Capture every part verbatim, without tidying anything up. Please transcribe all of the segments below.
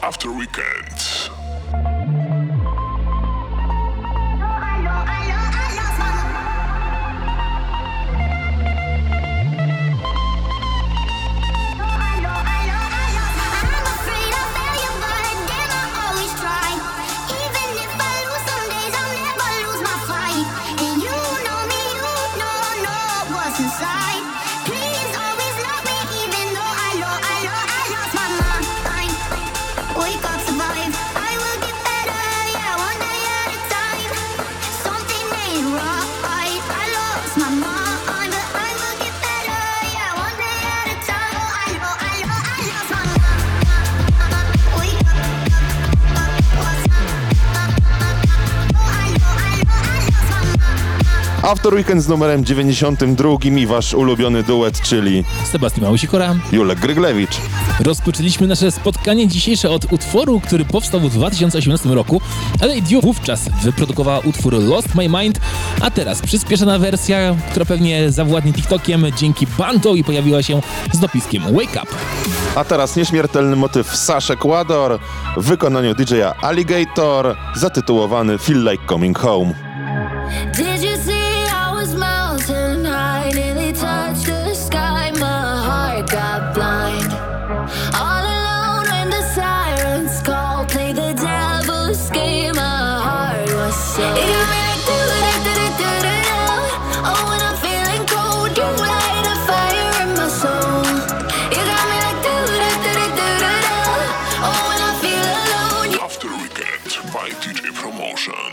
After Weekend. After Weekend z numerem dziewięćdziesiątym drugim i wasz ulubiony duet, czyli Sebastian Małysikora, Julek Gryglewicz. Rozpoczęliśmy nasze spotkanie dzisiejsze od utworu, który powstał w dwa tysiące osiemnastym roku, ale Dio wówczas wyprodukowała utwór Lost My Mind, a teraz przyspieszona wersja, która pewnie zawładnie TikTokiem dzięki Banto i pojawiła się z dopiskiem Wake Up. A teraz nieśmiertelny motyw Saszy Ecuador w wykonaniu D J a Alligator, zatytułowany Feel Like Coming Home. Did you see I was mountain high, nearly touched the sky, my heart got blind. All alone when the sirens called, play the devil's game, my heart was so. It got me like do da da da da da da. Oh, when I'm feeling cold, you light a fire in my soul. You got me like do da da da da da da. Oh, when I feel alone. You... After Weekend by D J Promotion.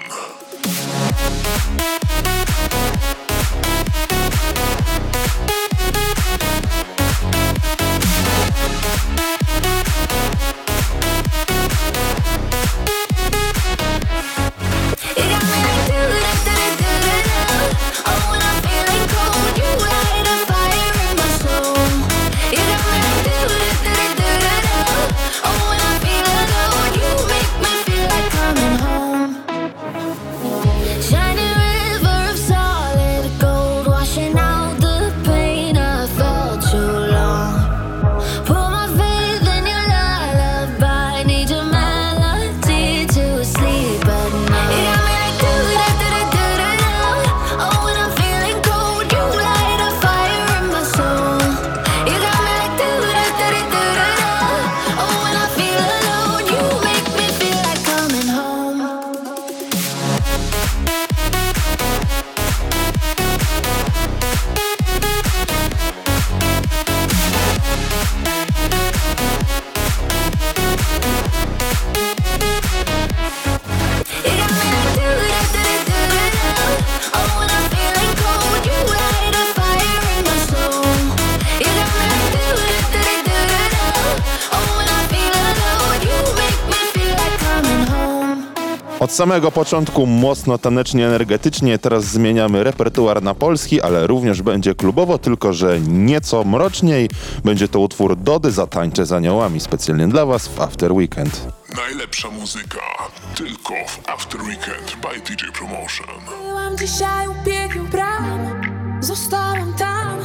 Od samego początku mocno tanecznie, energetycznie, teraz zmieniamy repertuar na polski, ale również będzie klubowo, tylko że nieco mroczniej. Będzie to utwór Dody Zatańczę z aniołami, specjalnie dla was w After Weekend. Najlepsza muzyka tylko w After Weekend by D J Promotion. Byłam dzisiaj u pięciu bram, zostałam tam.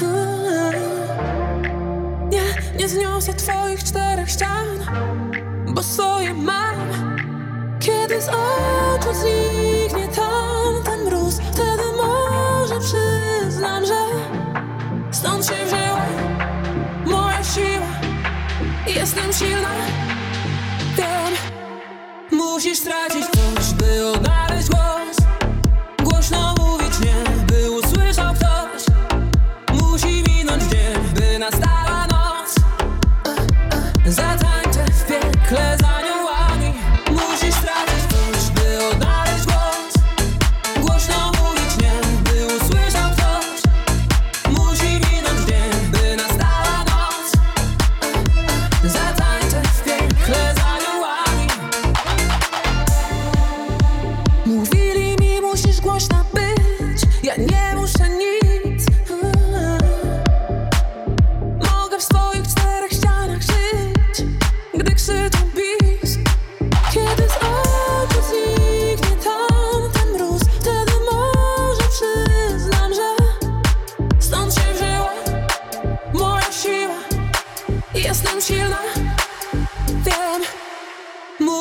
Nie, nie zniosę twoich czterech ścian, bo swoje mam. Kiedy z oczu zniknie tamten mróz, wtedy może przyznam, że stąd się wzięła moja siła. Jestem silna, wiem. Musisz stracić coś, by odnaleźć głos. Głośno mówić nie, by usłyszał ktoś. Musi minąć dzień, by nastała noc. Zatańczę w piekle za aniołami. Musisz stracić coś, by odnaleźć głos. Głośno mówić nie, by usłyszał ktoś. Musi minąć dzień, by nastała noc. Zatańczę w piekle za aniołami.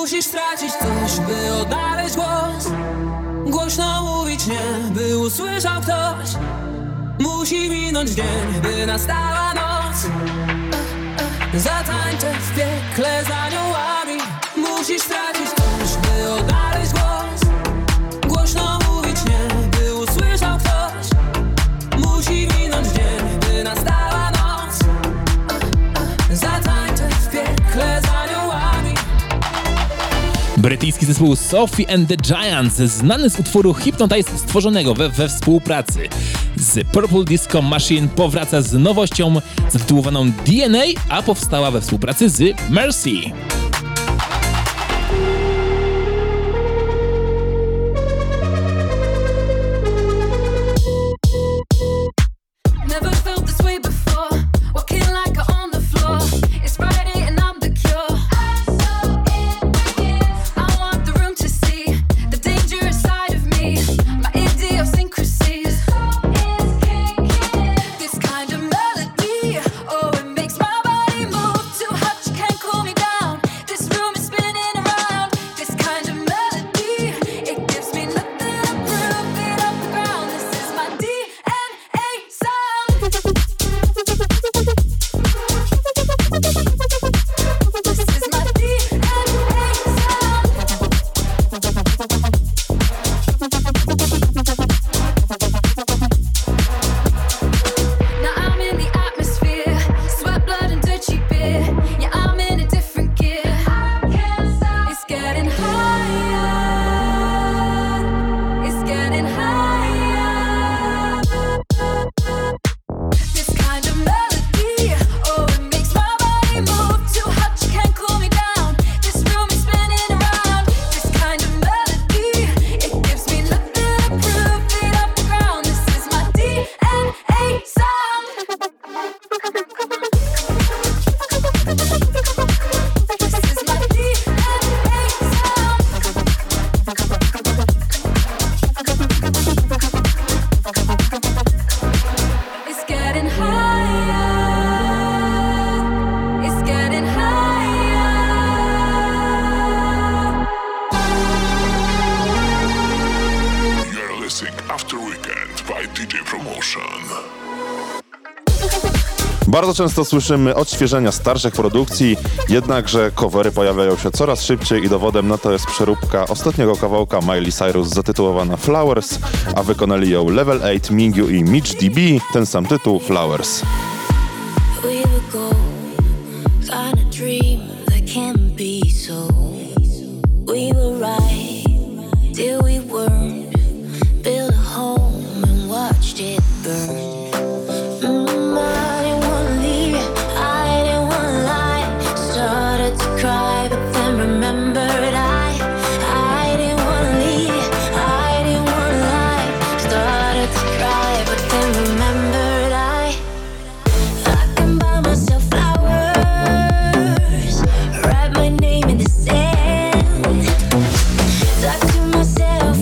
Musisz stracić coś, by odnaleźć głos. Głośno mówić nie, by usłyszał ktoś. Musi minąć dzień, by nastała noc. Zatańczę w piekle z aniołami. Musisz stracić coś, by odnaleźć głos. Głośno mówić nie, by usłyszał ktoś. Musi minąć dzień, by nastała noc. Zatańczę w piekle z aniołami. Brytyjski zespół Sophie and the Giants, znany z utworu Hypnotize stworzonego we, we współpracy z Purple Disco Machine, powraca z nowością zatytułowaną D N A, a powstała we współpracy z Mercy. Never felt this way before. Walking like I'm on the floor. It's Friday and I'm the cure. I'm so in. I want the room to see the dangerous side of me. My idiosyncrasies. This kind of melody, oh, it makes my body move. Too hot, you can't cool me down. This room is spinning around. This kind of melody, it gives me nothing to prove. Beat up the ground. This is my D N A sound. This is my D N A sound. Now I'm in the atmosphere, sweat, blood, and dirty beer. Yeah, I'm in a different gear. I can't stop. It's getting higher. It's getting higher. This kind of melody, oh, it makes my body move. Too hot, you can't cool me down. This room is spinning around. This kind of melody, it gives me nothing to prove. Beat up the ground. This is my D N A sound. This is my D N A sound. It's getting higher. It's getting higher. You're listening After Weekend by D J Promotion. Bardzo często słyszymy odświeżenia starszych produkcji, jednakże covery pojawiają się coraz szybciej i dowodem na to jest przeróbka ostatniego kawałka Miley Cyrus zatytułowana Flowers, a wykonali ją Level osiem, Mingyu i Mitch D B, ten sam tytuł Flowers. We were gold, kind of dream that can't be so. We were right till we weren't. Built a home and watched it burn. Mm, I didn't wanna leave, I didn't wanna lie. Started to cry, but then remembered I, I didn't wanna leave, I didn't wanna lie. Started to cry, but then remembered I. I can buy myself flowers, write my name in the sand. Talk to myself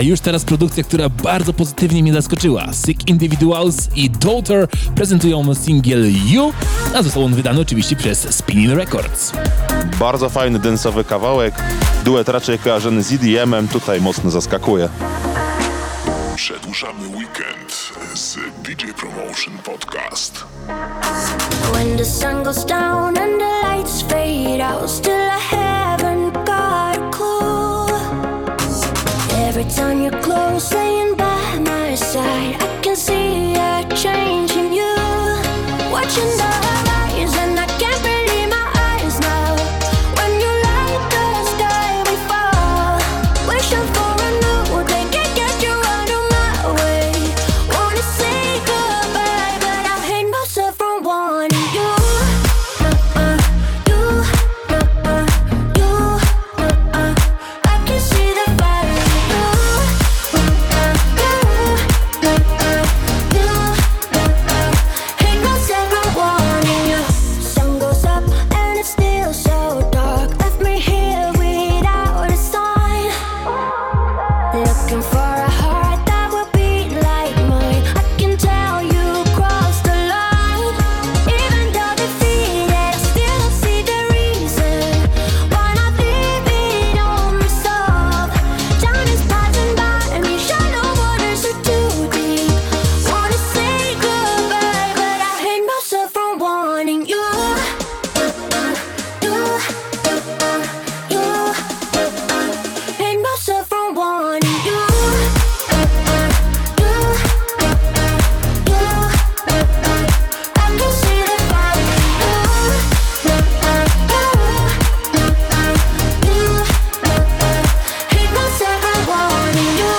już teraz produkcja, która bardzo pozytywnie mnie zaskoczyła. Sick Individuals i Daughter prezentują singiel You, a został on wydany oczywiście przez Spinning Records. Bardzo fajny, densowy kawałek. Duet raczej kojarzony z E D M-em, tutaj mocno zaskakuje. Przedłużamy weekend z D J Promotion Podcast. When the sun goes down and the lights fade out, still I haven't got a clue. Every time you're close, laying by my side, I can see a change in you. Watching the horizon, I can't believe my eyes now. When you light the sky, we fall. Wishing for a new day, can't get you out of my way. Wanna say goodbye, but I hate myself for wanting you. Uh-uh, you, uh-uh, you, uh-uh. I can see the fire in you. Uh-uh, you, uh-uh, you, uh-uh. Hate myself for wanting you. Sun goes up and it's still so dark. Left me here without a sign. Looking for a heart that will beat like mine. I can tell you crossed the line. Even though defeated, still see the reason why not leave it unresolved. Time is passing by me, shallow waters are too deep. Wanna say goodbye, but I hate myself for wanting you. Uh-uh, you, uh-uh, you, uh-uh. Hate myself for wanting you. Uh-uh, you, uh-uh, you, uh-uh. I can see the fire in you. Uh-uh, you, uh-uh, you, uh-uh. Hate myself for wanting you.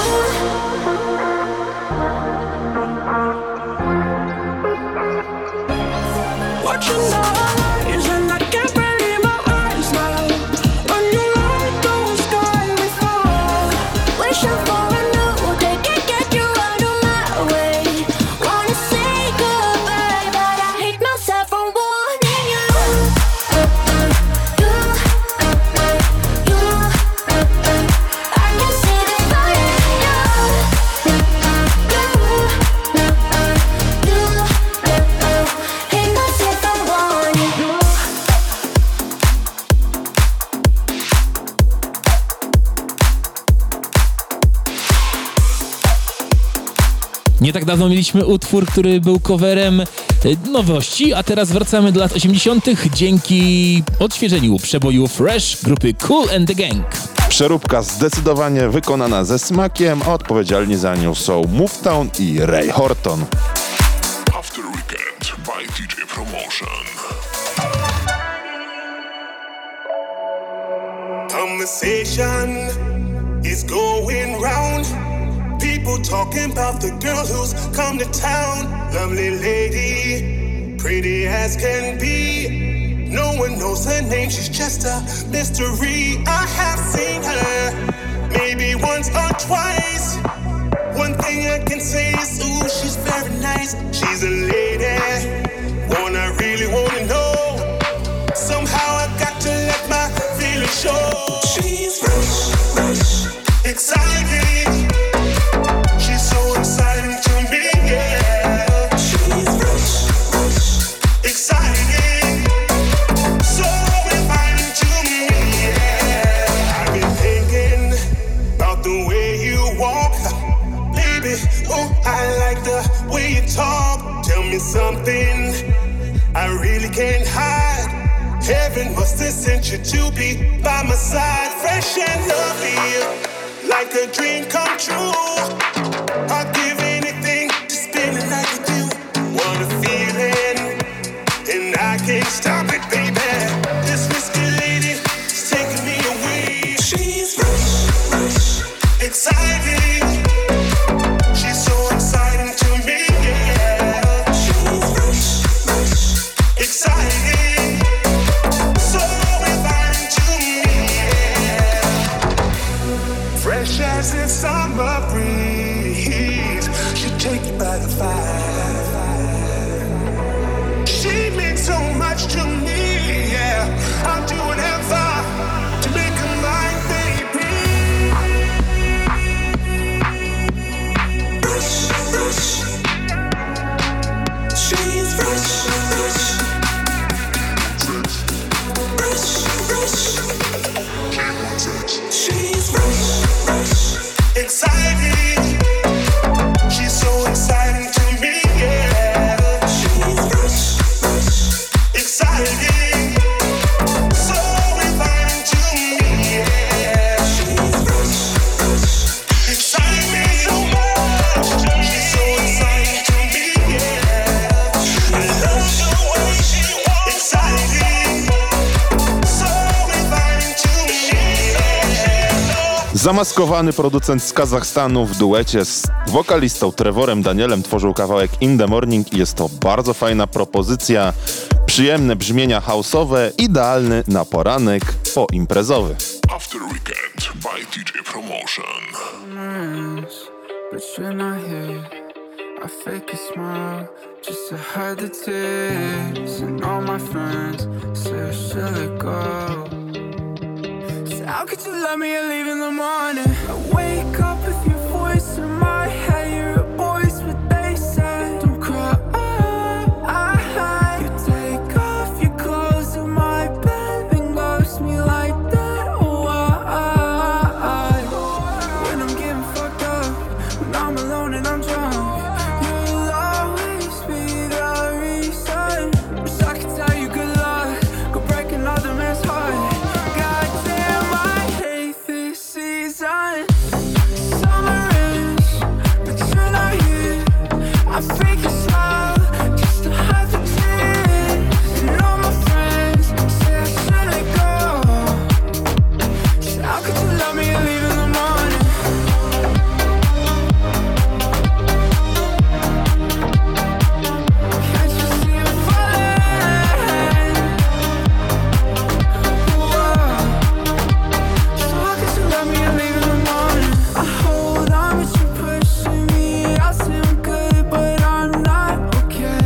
Watching the horizon, I can't believe my eyes now. When you light the sky, we fall. Wishing for a new day, can't get you out of my way. Wanna say goodbye, but I hate myself for wanting you. Uh-uh, you, uh-uh, you, uh-uh. I can see the fire in you. Uh-uh, you, uh-uh, you, uh-uh. Hate myself for wanting you. Nie tak dawno mieliśmy utwór, który był coverem e, nowości, a teraz wracamy do lat osiemdziesiątych dzięki odświeżeniu przeboju Fresh grupy Kool and the Gang. Przeróbka zdecydowanie wykonana ze smakiem, a odpowiedzialni za nią są Movetown i Ray Horton. After Weekend by D J Promotion. Conversation is going round. People talking about the girl who's come to town. Lovely lady, pretty as can be. No one knows her name, she's just a mystery. I have seen her maybe once or twice. One thing I can say is, ooh, she's very nice. She's a lady, one I really wanna know. Somehow I got to let my feelings show. She's fresh, fresh, exciting. She's so exciting to me, yeah. She's fresh, fresh, exciting. So inviting to me, yeah. I've been thinking about the way you walk, baby. Oh, I like the way you talk. Tell me something I really can't hide. Heaven must have sent you to be by my side. Fresh and lovely, like a dream come true. I'd give anything to spend a night with you. What a feeling, and I can't stop it, baby. This risky lady is taking me away. She's fresh, fresh, exciting. She's so exciting to me, yeah. She's fresh, fresh, exciting. So inviting to me, yeah. Fresh as the summer breeze, She's fresh, fresh, exciting. She's so exciting to me, yeah. She's fresh, fresh, exciting. So inviting to me, yeah. She's fresh, fresh, exciting me so much. She's so exciting to me, yeah. I love the way she walks, exciting. So inviting to me, yeah. Zamaskowany producent z Kazachstanu w duecie z wokalistą Trevorem Danielem tworzył kawałek In The Morning i jest to bardzo fajna propozycja, przyjemne brzmienia house'owe, idealny na poranek poimprezowy. After Weekend by D J Promotion. But you're not here. I fake a smile just to hide the tears. And all my friends say I should let go. So how could you love me and leave in the morning? I wake up with your voice in my head. You're a voice, what they say. Don't cry. You take off your clothes in my bed and ghost me like that. Why? When I'm getting fucked up, when I'm alone and I'm drunk, you'll always be the reason. Wish I could tell you good luck, go break another man's heart. Goddamn, I hate this season. Summer is, but you're not here. I fake a smile just to hide the tears. And all my friends say I should let go. So how could you love me and leave in the morning? Can't you see I'm falling? Whoa. So how could you love me and leave in the morning? I hold on, but you're pushing me. I say I'm good, but I'm not okay.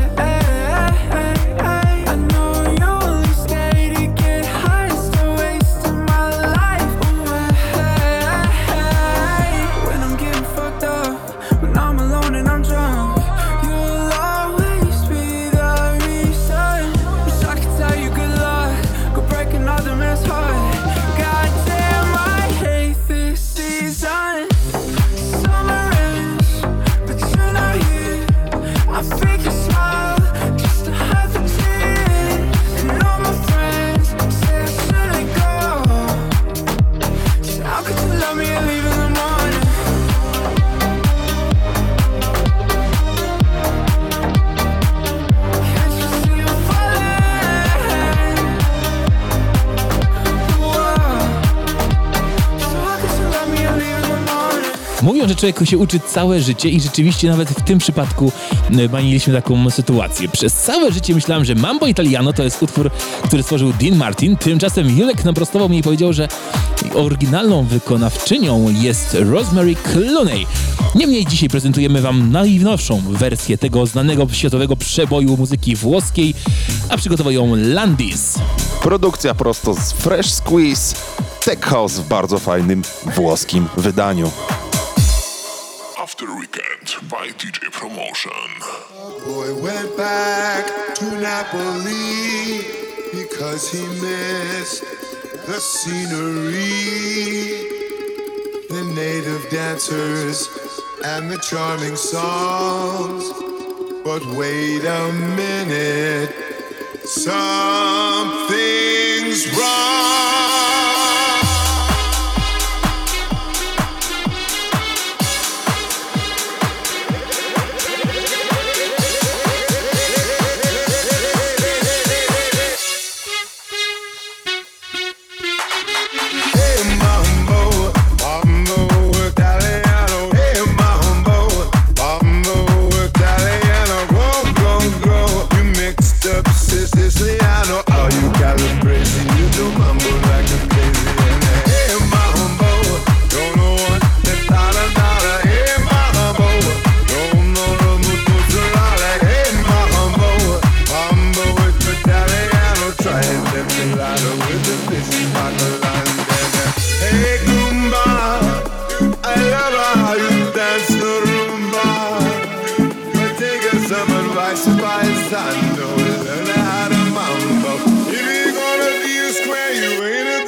I know you only stay to get high, still wasting my life away. When I'm getting fucked up, when I'm alone and I'm drunk, you'll always be the reason. Wish I could tell you good luck, go break another man's heart. Goddamn, I hate this season. Summer is, but you're not here. I fake a smile just to hide the tears. And all my friends say I should let go. So how could you love me and leave in the morning? Can't you see I'm falling? Whoa. So how could you love me and leave in the morning? Mówią, że człowiek się uczy całe życie i rzeczywiście nawet w tym przypadku y, mieliśmy taką sytuację. Przez całe życie myślałem, że Mambo Italiano to jest utwór, który stworzył Dean Martin. Tymczasem Julek naprostował mnie i powiedział, że oryginalną wykonawczynią jest Rosemary Clooney. Niemniej dzisiaj prezentujemy wam najnowszą wersję tego znanego światowego przeboju muzyki włoskiej, a przygotował ją Landis. Produkcja prosto z Fresh Squeeze, Tech House w bardzo fajnym włoskim wydaniu. After Weekend by D J Promotion. Boy went back to Napoli because he missed the scenery, the native dancers and the charming songs. But wait a minute, something's wrong. Paisano, learn how to mambo. If you're gonna be a square, you ain't a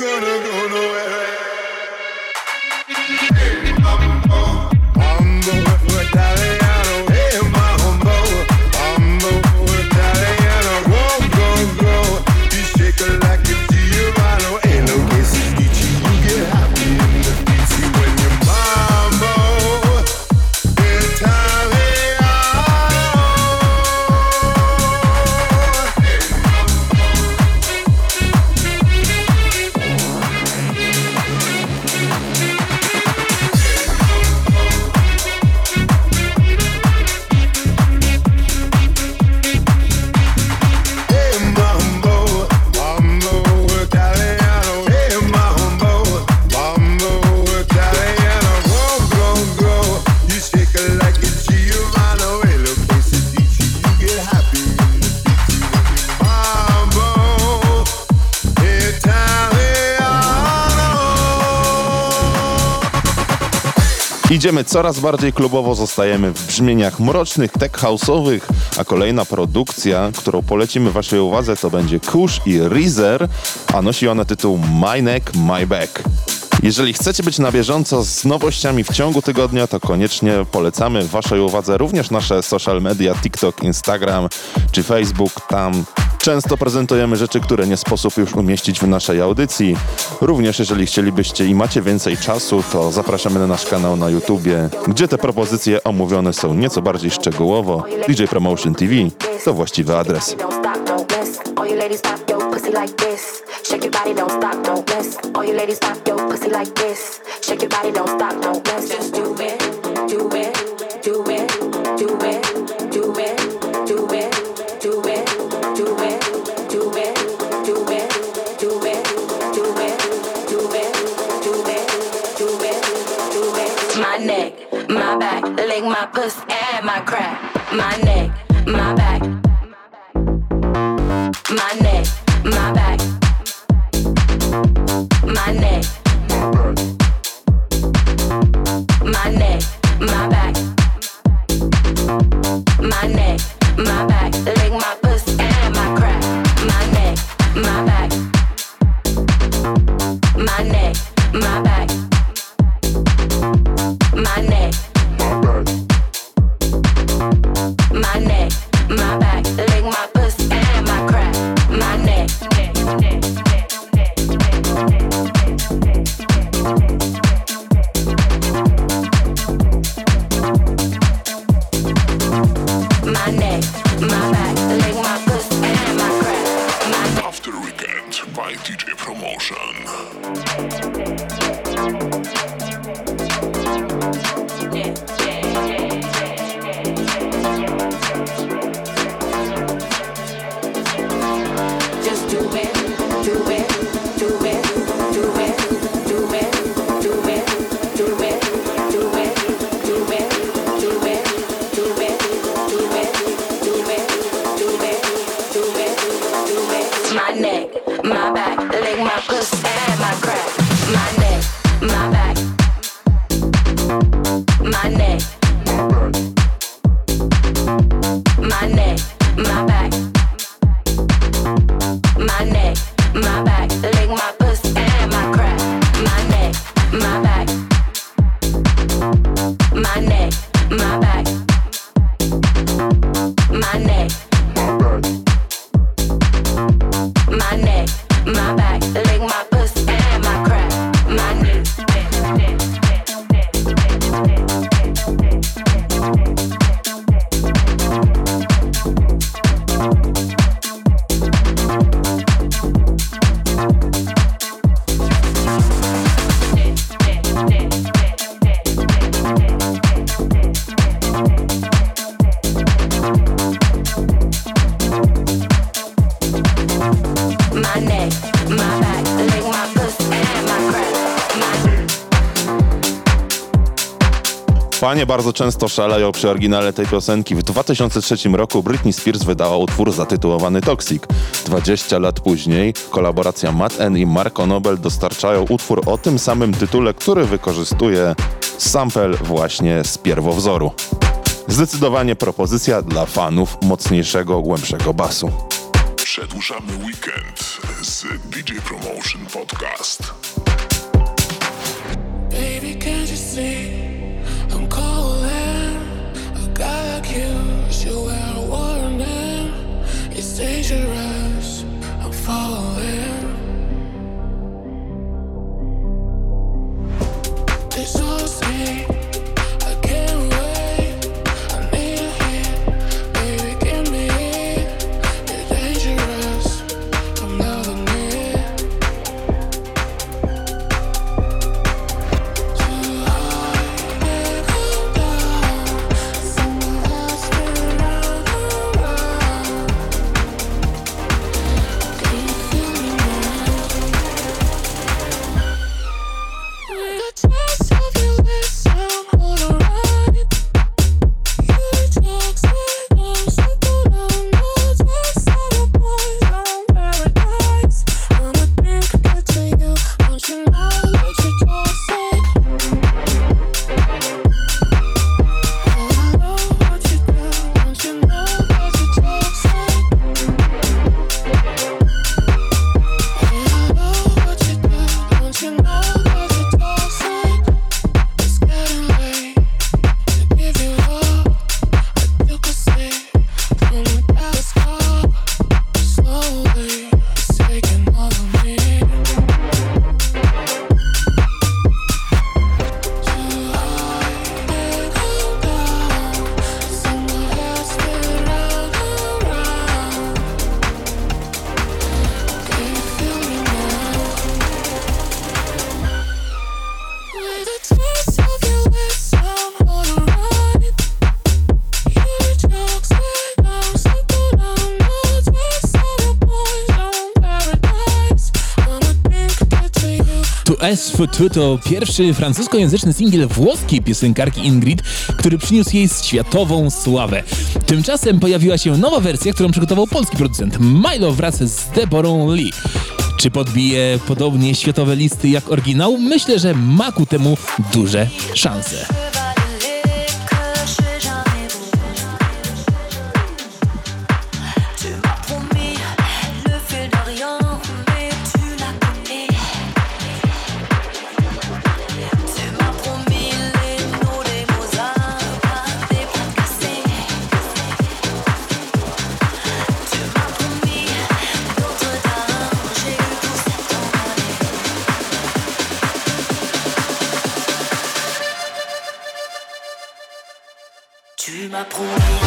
Idziemy coraz bardziej klubowo, zostajemy w brzmieniach mrocznych, tech house'owych, a kolejna produkcja, którą polecimy waszej uwadze, to będzie Kush i Reezer, a nosi ona tytuł My Neck, My Back. Jeżeli chcecie być na bieżąco z nowościami w ciągu tygodnia, to koniecznie polecamy waszej uwadze również nasze social media, TikTok, Instagram czy Facebook. Tam często prezentujemy rzeczy, które nie sposób już umieścić w naszej audycji. Również jeżeli chcielibyście i macie więcej czasu, to zapraszamy na nasz kanał na YouTubie, gdzie te propozycje omówione są nieco bardziej szczegółowo. D J Promotion T V to właściwy adres. All you ladies pop your pussy like this. Shake your body, don't stop, don't rest. All you ladies pop your pussy like this. Shake your body, don't stop, don't rest. Just do it, do it, do it, do it, do it, do it, do it, do it, do it, do it, do it, do it, do it, do it, do it, do it. My neck, my back, lick my pussy and my crack. My neck, my back. My neck, my back. My neck. My neck, my back. My neck, my back. Lick my pussy and my crack. My neck, my back. My neck, my back. My neck. My neck, my back. Lick my pussy and my crack. My neck. My neck, my back, lick my pussy and my crack. My neck. After Weekend by D J Promotion. Just do it, do it, do it, do it, do it, do it, do it, do it, do it, do it, do it, do it, do it, do it, do it, do it. My neck, my back, lick my pussy and my crack. My neck, my back. My neck. My neck, my back. My neck, my back, lick my pussy and my crack. My neck, my back. My neck, my back. My neck. My neck, my back, lick my pussy and my crack. My neck. My neck, my back, lick my pussy and my crack. My neck. Panie bardzo często szaleją przy oryginale tej piosenki. W dwa tysiące trzecim roku Britney Spears wydała utwór zatytułowany Toxic. dwadzieścia lat później kolaboracja Matt N i Marco Nobel dostarczają utwór o tym samym tytule, który wykorzystuje sample właśnie z pierwowzoru. Zdecydowanie propozycja dla fanów mocniejszego, głębszego basu. Przedłużamy weekend z D J Promotion Podcast. Baby, can't you see I'm calling? A guy like you should wear a warning. It's dangerous, I'm falling. It's so sweet, I can't wait. I need a hit, baby, give me it. You're dangerous, I'm loving it. Too high. S F T to pierwszy francuskojęzyczny singiel włoskiej piosenkarki Ingrid, który przyniósł jej światową sławę. Tymczasem pojawiła się nowa wersja, którą przygotował polski producent Milo wraz z Deborą Lee. Czy podbije podobnie światowe listy jak oryginał? Myślę, że ma ku temu duże szanse. Tu m'as promis.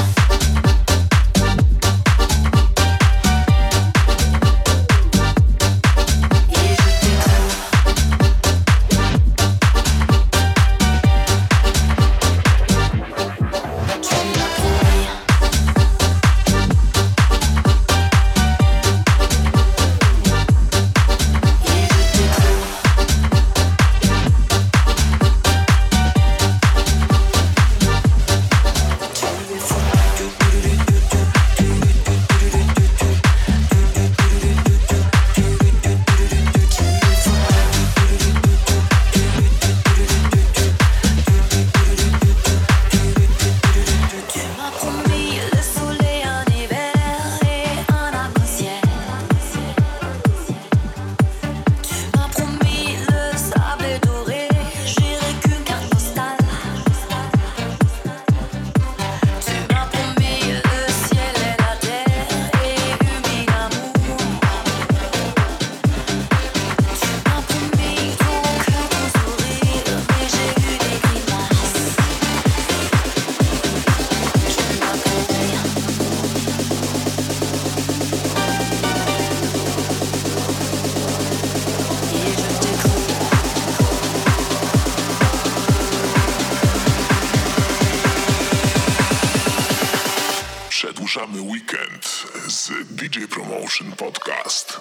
Przedłużamy weekend z D J Promotion Podcast.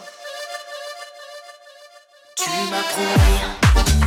Tu m'as promis.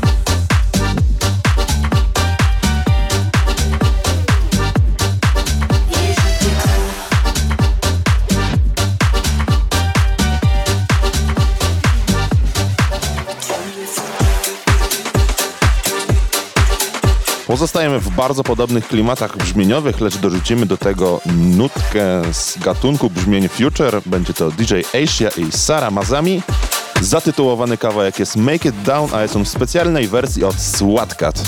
Pozostajemy w bardzo podobnych klimatach brzmieniowych, lecz dorzucimy do tego nutkę z gatunku brzmień Future. Będzie to D J Asia i Sara Mazami. Zatytułowany kawałek jest Make It Down, a jest on w specjalnej wersji od SWAT-Cat.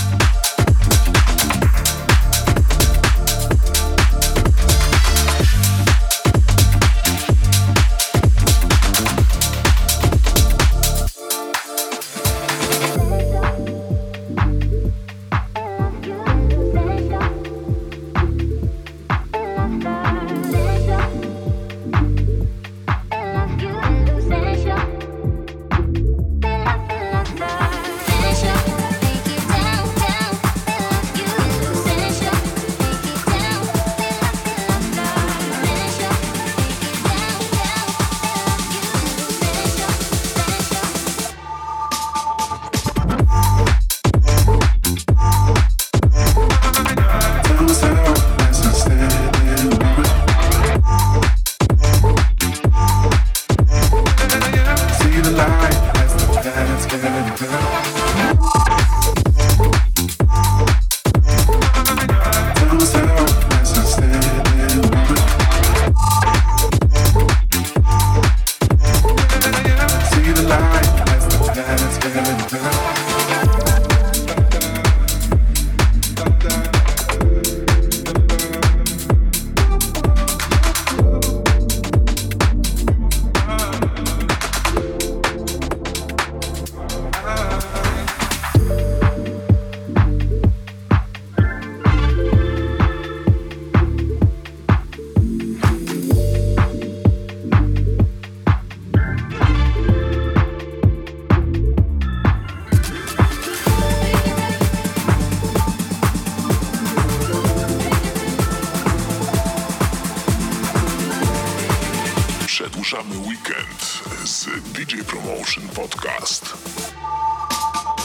Przedłużamy weekend z D J Promotion Podcast.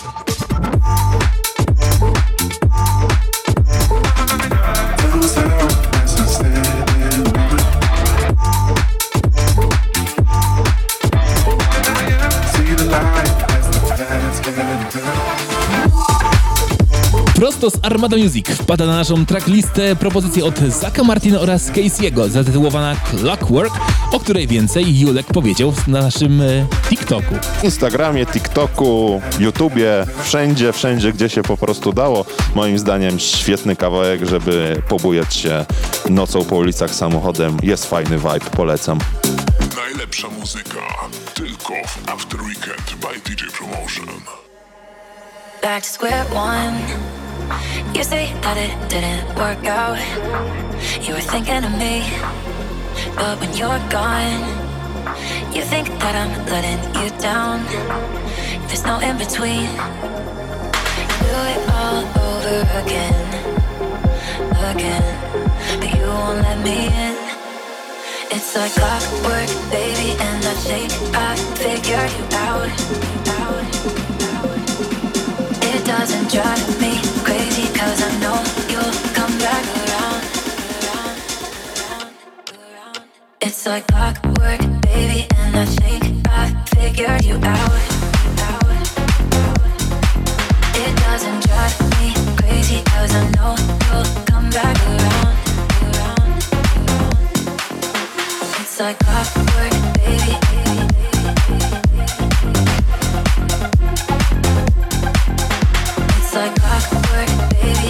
Prosto z Armada Music wpada na naszą tracklistę propozycja od Zacka Martina oraz Casey'ego zatytułowana Clockwork, o której więcej Julek powiedział na naszym e, TikToku. Instagramie, TikToku, YouTubie, wszędzie, wszędzie, gdzie się po prostu dało. Moim zdaniem świetny kawałek, żeby pobujać się nocą po ulicach samochodem. Jest fajny vibe, polecam. Najlepsza muzyka tylko w After Weekend by D J Promotion. Back to square one. You say that it didn't work out. You were thinking of me, but when you're gone, you think that I'm letting you down. There's no in between. Do it all over again, again, but you won't let me in. It's like clockwork, baby, and that shake, I figured you out, out. It doesn't drive me crazy, cause I know you'll come back around, around, around, around. It's like clockwork, baby, and that shake, I figured you out, out. It doesn't drive me crazy, cause I know you'll come back around, around, around. It's like clockwork, baby. It's like clockwork, baby.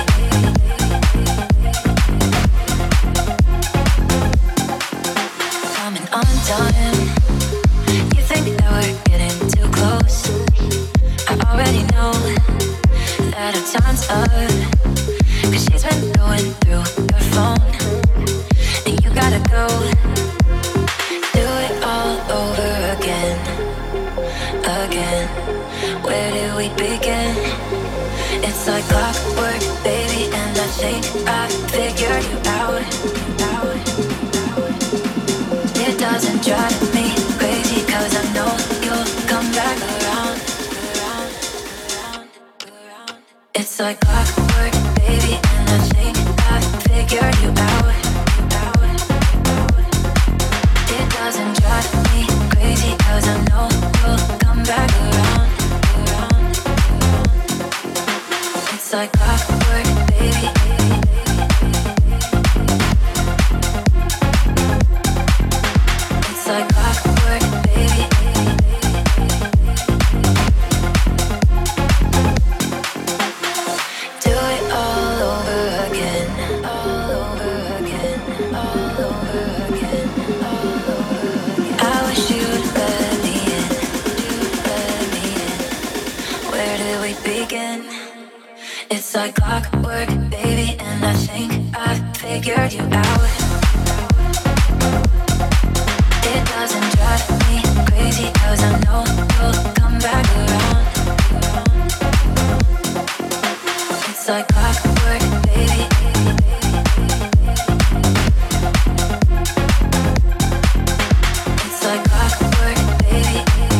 Coming undone. You think that we're getting too close. I already know that our time's up. Cause she's been going through your phone. And you gotta go. Do it all over again, again. Where did we begin? It's like clockwork, baby, and that shake, I figured you out, out. It doesn't drive me crazy, cause I know you'll come back around, around, around, around. It's like clockwork, baby, and that shake, I figured you out, out, out. It doesn't drive me crazy, cause I know you'll come back around, around, around. It's like clockwork, baby. It's like clockwork, baby. Do it all over again, all over again, all over again, all over again. I wish you'd let me in, you'd let me in. Where did we begin? It's like clockwork, baby, and I think I figured you out. It doesn't drive me crazy, cause I know you'll come back around, around. It's like clockwork, baby. It's like clockwork, baby.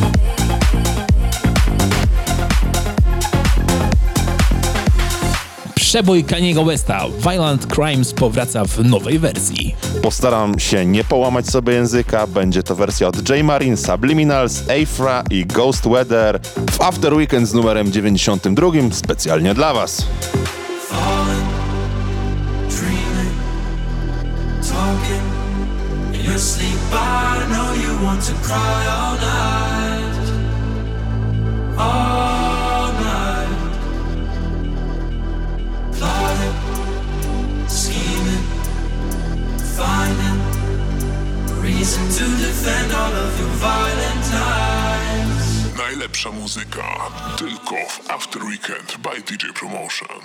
Przebój Kaniego Westa, Violent Crimes, powraca w nowej wersji. Postaram się nie połamać sobie języka. Będzie to wersja od J Marin, Subliminals, Afra i Ghost Weather w After Weekend z numerem dziewięćdziesiątym drugim specjalnie dla was. Falling, dreaming, talking in your sleep. I know you want to cry all night, all night. Plotting, scheming, finding a reason to defend all of your violent times. Najlepsza muzyka tylko w After Weekend by D J Promotion.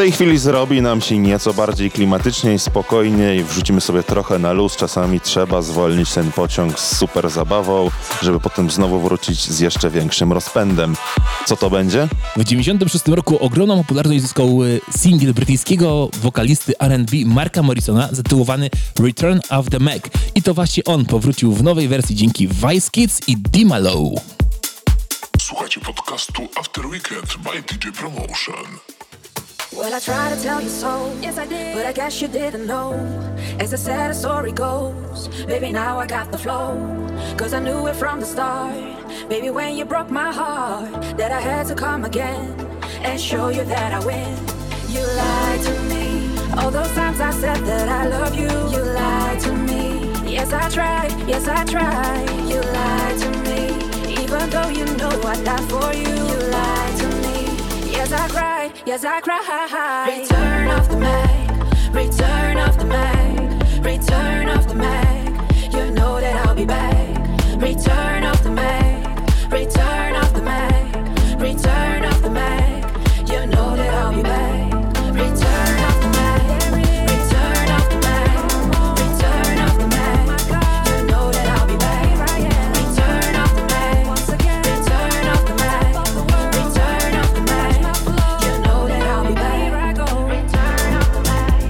tej chwili zrobi nam się nieco bardziej klimatycznie i spokojniej. Wrzucimy sobie trochę na luz. Czasami trzeba zwolnić ten pociąg z super zabawą, żeby potem znowu wrócić z jeszcze większym rozpędem. Co to będzie? W dziewięćdziesiątym szóstym roku ogromną popularność zyskał singiel brytyjskiego wokalisty R and B Marka Morrisona zatytułowany Return of the Mac. I to właśnie on powrócił w nowej wersji dzięki Vice Kids i D-Malo. Słuchajcie podcastu After Weekend by D J Promotion. Well, I tried to tell you so, yes I did, but I guess you didn't know. As the sad story goes, baby now I got the flow. Cause I knew it from the start, baby when you broke my heart, that I had to come again, and show you that I win. You lied to me, all those times I said that I love you. You lied to me, yes I tried, yes I tried. You lied to me, even though you know I'd die for you. You lied to me, yes I cried, yes I cried. Return of the Mac, return of the Mac, return of the Mac. You know that I'll be back. Return of the Mac, return of the Mac, return of the Mac. You know that I'll be back. Return of the Mac, return of the Mac, return of the Mac. You know that I'll be back. Return of the Mac, return of the Mac, return of the Mac. You know that I'll be back. Return of the Mac,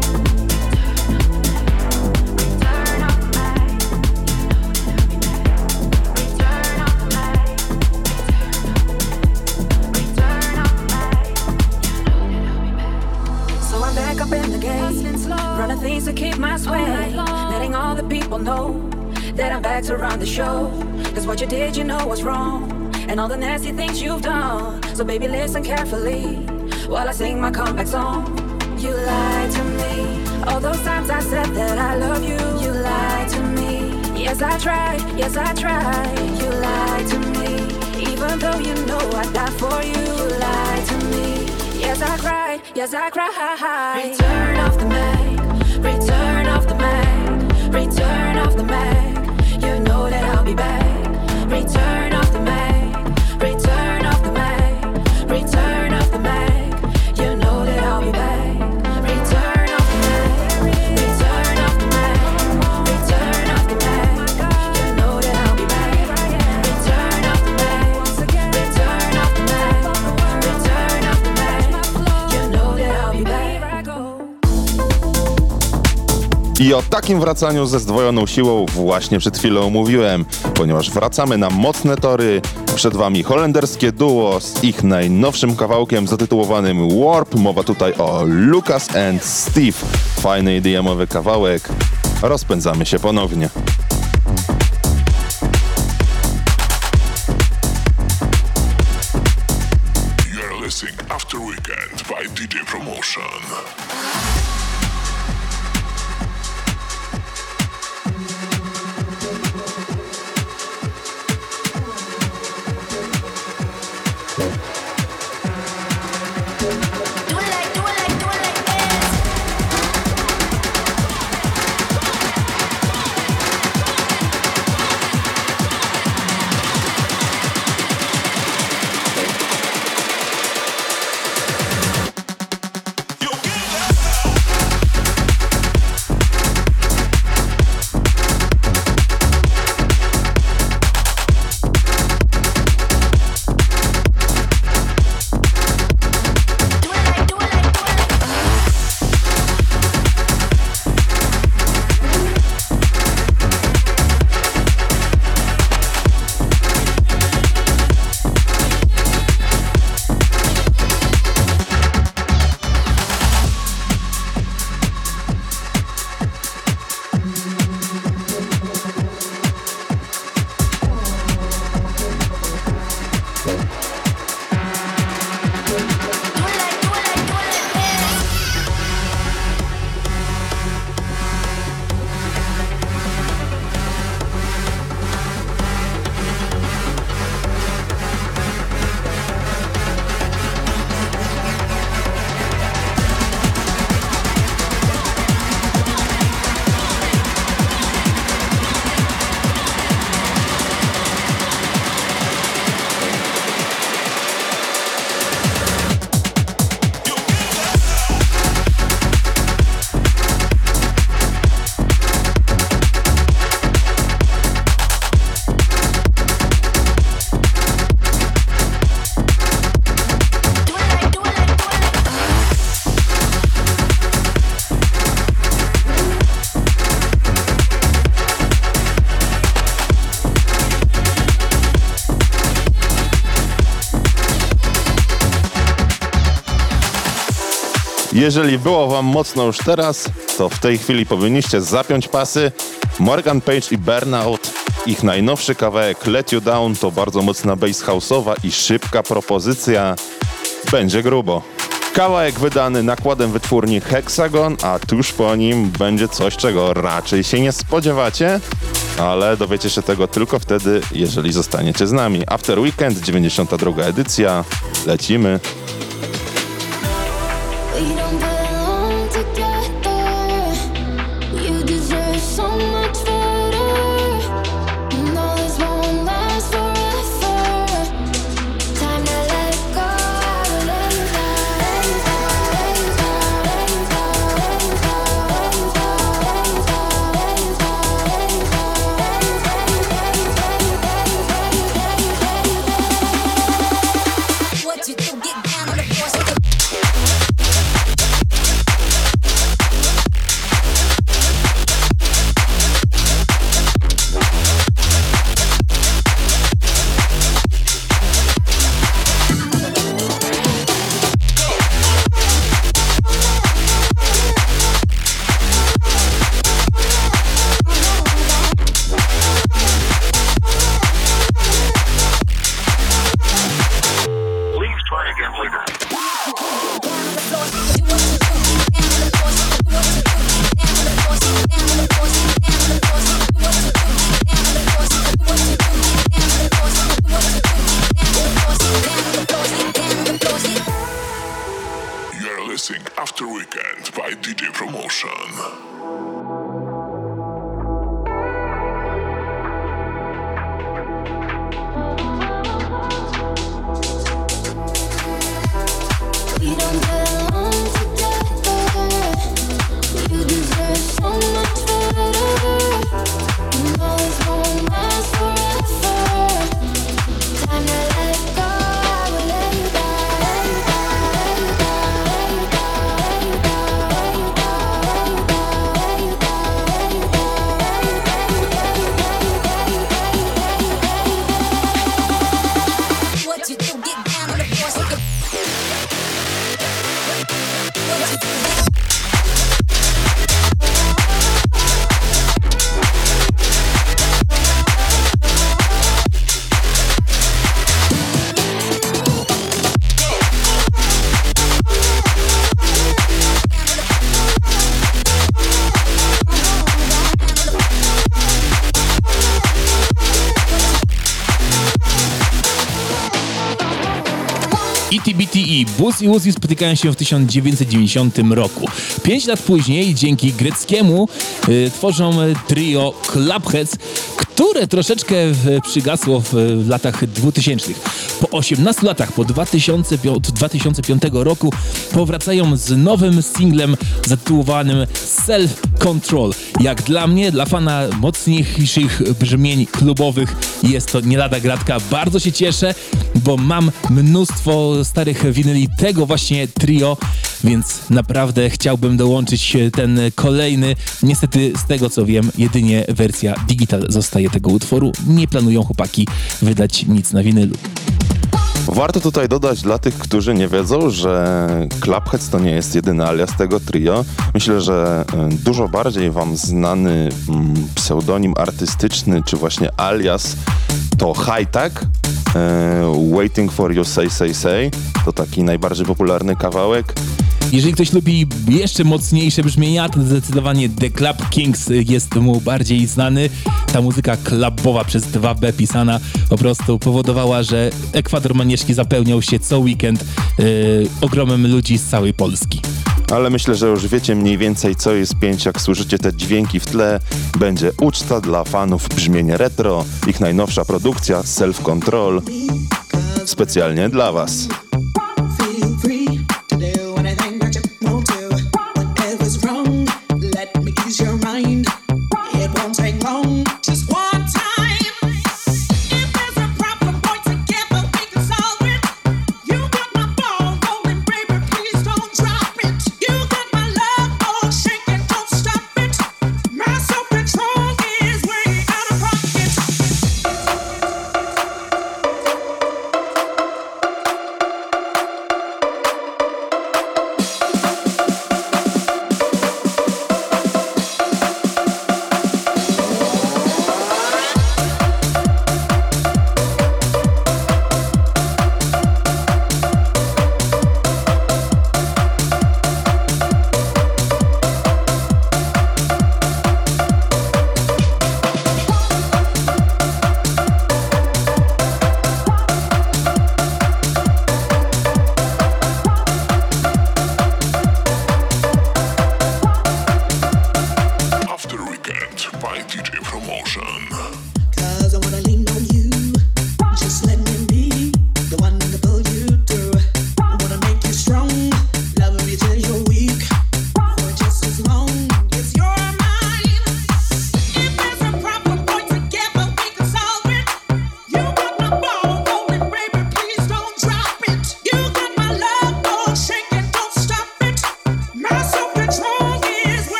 return of the Mac, return of the Mac, return of the Mac. So I'm back up in the game, running things to keep my sway, letting all the people know that I'm back to run the show. Cause what you did, you know was wrong, and all the nasty things you've done. So baby, listen carefully while I sing my comeback song. You lied to me, all those times I said that I love you. You lied to me, yes I tried, yes I tried. You lied to me, even though you know I'd die for you. You lied to me, yes I cried, yes I cried. Return of the Mac, return of the Mac, return of the Mac. You know that I'll be back. Return of the Mac, return of the Mac, return of the Mac. You know that I'll be back. Return of the Mac, return of the Mac, return of the Mac. You know that I'll be back. Return of the Mac, return of the Mac, return of the Mac. You know that I'll be back. I o takim wracaniu ze zdwojoną siłą właśnie przed chwilą mówiłem, ponieważ wracamy na mocne tory. Przed wami holenderskie duo z ich najnowszym kawałkiem zatytułowanym Warp. Mowa tutaj o Lucas and Steve. Fajny I D M-owy kawałek. Rozpędzamy się ponownie. You're listening After Weekend by D J Promotion. You get that. Jeżeli było wam mocno już teraz, to w tej chwili powinniście zapiąć pasy. Morgan Page i Burnout, ich najnowszy kawałek Let You Down to bardzo mocna bass house'owa i szybka propozycja. Będzie grubo. Kawałek wydany nakładem wytwórni Hexagon, a tuż po nim będzie coś, czego raczej się nie spodziewacie, ale dowiecie się tego tylko wtedy, jeżeli zostaniecie z nami. After Weekend, dziewięćdziesiąta druga edycja. Lecimy. We don't belong together. You deserve so much better. No, this won't last forever. Time to let go. Let it go, let it go, let it go, let it go, let it go, let it go, let it go, let it go, let it go, let it go. What you do, get down on the floor. You're listening After Weekend by D J Promotion. We don't belong together. You deserve so much better. No, this won't last forever. Time to let go. Let it go. Let it go. Let it go. Let it go. Let it go. Let it go. Let it go. Let it go. What you do? Get down on the floor. So you E T B T E, Bus i Uzi spotykają się w tysiąc dziewięćset dziewięćdziesiątym roku. Pięć lat później, dzięki greckiemu, y, tworzą trio Clubheads, które troszeczkę w, przygasło w, w latach dwutysięcznych. Po osiemnastu latach, po dwa tysiące piątym, od dwa tysiące piątego roku powracają z nowym singlem zatytułowanym Self Control. Jak dla mnie, dla fana mocniejszych brzmień klubowych jest to nie lada gratka. Bardzo się cieszę, bo mam mnóstwo starych winyli tego właśnie trio, więc naprawdę chciałbym dołączyć ten kolejny. Niestety z tego co wiem, jedynie wersja digital zostaje tego utworu. Nie planują chłopaki wydać nic na winylu. Warto tutaj dodać dla tych, którzy nie wiedzą, że Clubheads to nie jest jedyny alias tego trio. Myślę, że dużo bardziej wam znany pseudonim artystyczny, czy właśnie alias to High-Tech, Waiting for You Say Say Say. To taki najbardziej popularny kawałek. Jeżeli ktoś lubi jeszcze mocniejsze brzmienia, to zdecydowanie The Club Kings jest mu bardziej znany. Ta muzyka klubowa przez dwa B pisana po prostu powodowała, że Ekwador Manieszki zapełniał się co weekend yy, ogromem ludzi z całej Polski. Ale myślę, że już wiecie mniej więcej, co jest pięć, jak słyszycie te dźwięki w tle. Będzie uczta dla fanów brzmienia retro, ich najnowsza produkcja Self Control, specjalnie dla was.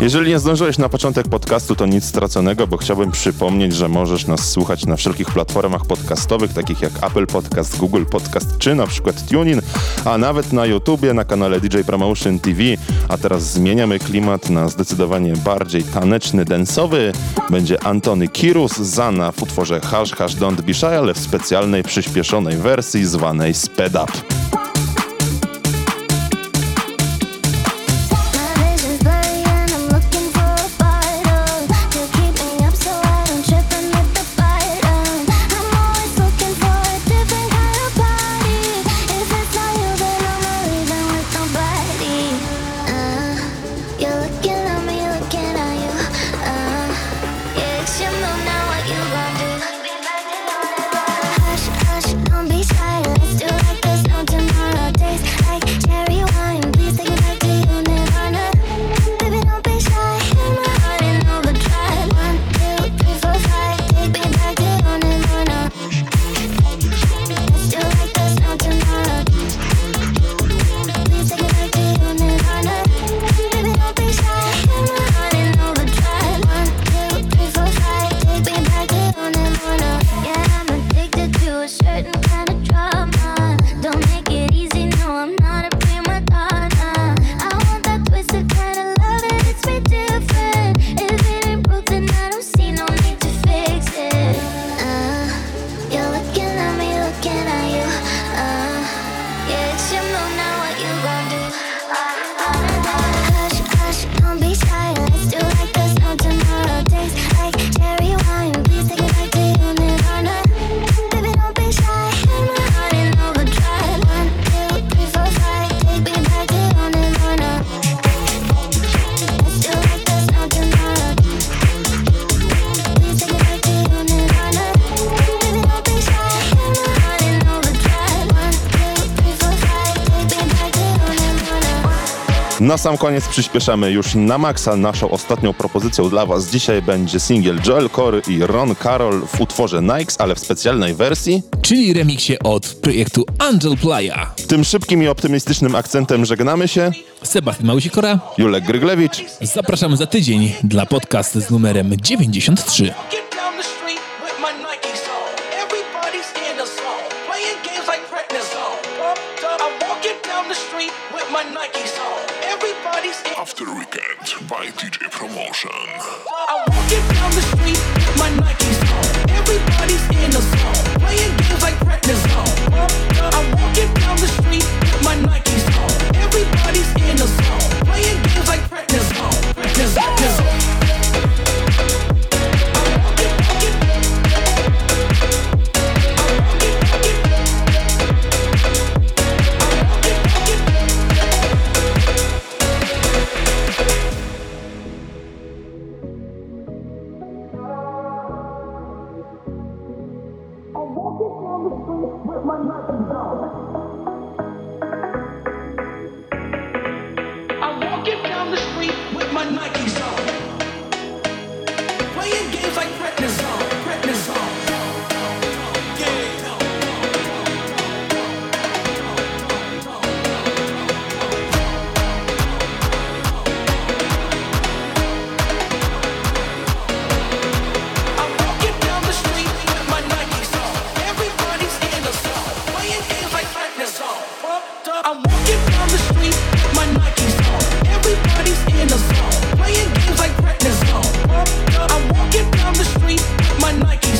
Jeżeli nie zdążyłeś na początek podcastu, to nic straconego, bo chciałbym przypomnieć, że możesz nas słuchać na wszelkich platformach podcastowych, takich jak Apple Podcast, Google Podcast czy na przykład TuneIn, a nawet na YouTubie, na kanale D J Promotion T V. A teraz zmieniamy klimat na zdecydowanie bardziej taneczny, densowy. Będzie Antony Kirus, Zana w utworze Hush Hush Don't Be Shy, ale w specjalnej, przyspieszonej wersji zwanej Sped Up. Na sam koniec przyspieszamy już na maksa. Naszą ostatnią propozycją dla Was dzisiaj będzie singiel Joel Corry i Ron Carroll w utworze Nikes, ale w specjalnej wersji, czyli remiksie od projektu Angel Playa. Tym szybkim i optymistycznym akcentem żegnamy się. Sebastian Małysik-Kora, Julek Gryglewicz. Zapraszamy za tydzień dla podcastu z numerem dziewięćdziesiąt trzy. After Weekend by D J Promotion. I'm walking down the street with my Nikes on. Everybody's in the zone, playing games like prednisone. I'm walking down the street with my Nikes on. Everybody's in the zone, playing games like prednisone. Prednisone. With my Nikes on. I'm walking down the street with my Nikes on. Playing games like prednisone, prednisone. I'm walking down the street with my Nikes on. Everybody's in the zone, playing games like prednisone. I'm walking down the street with my Nikes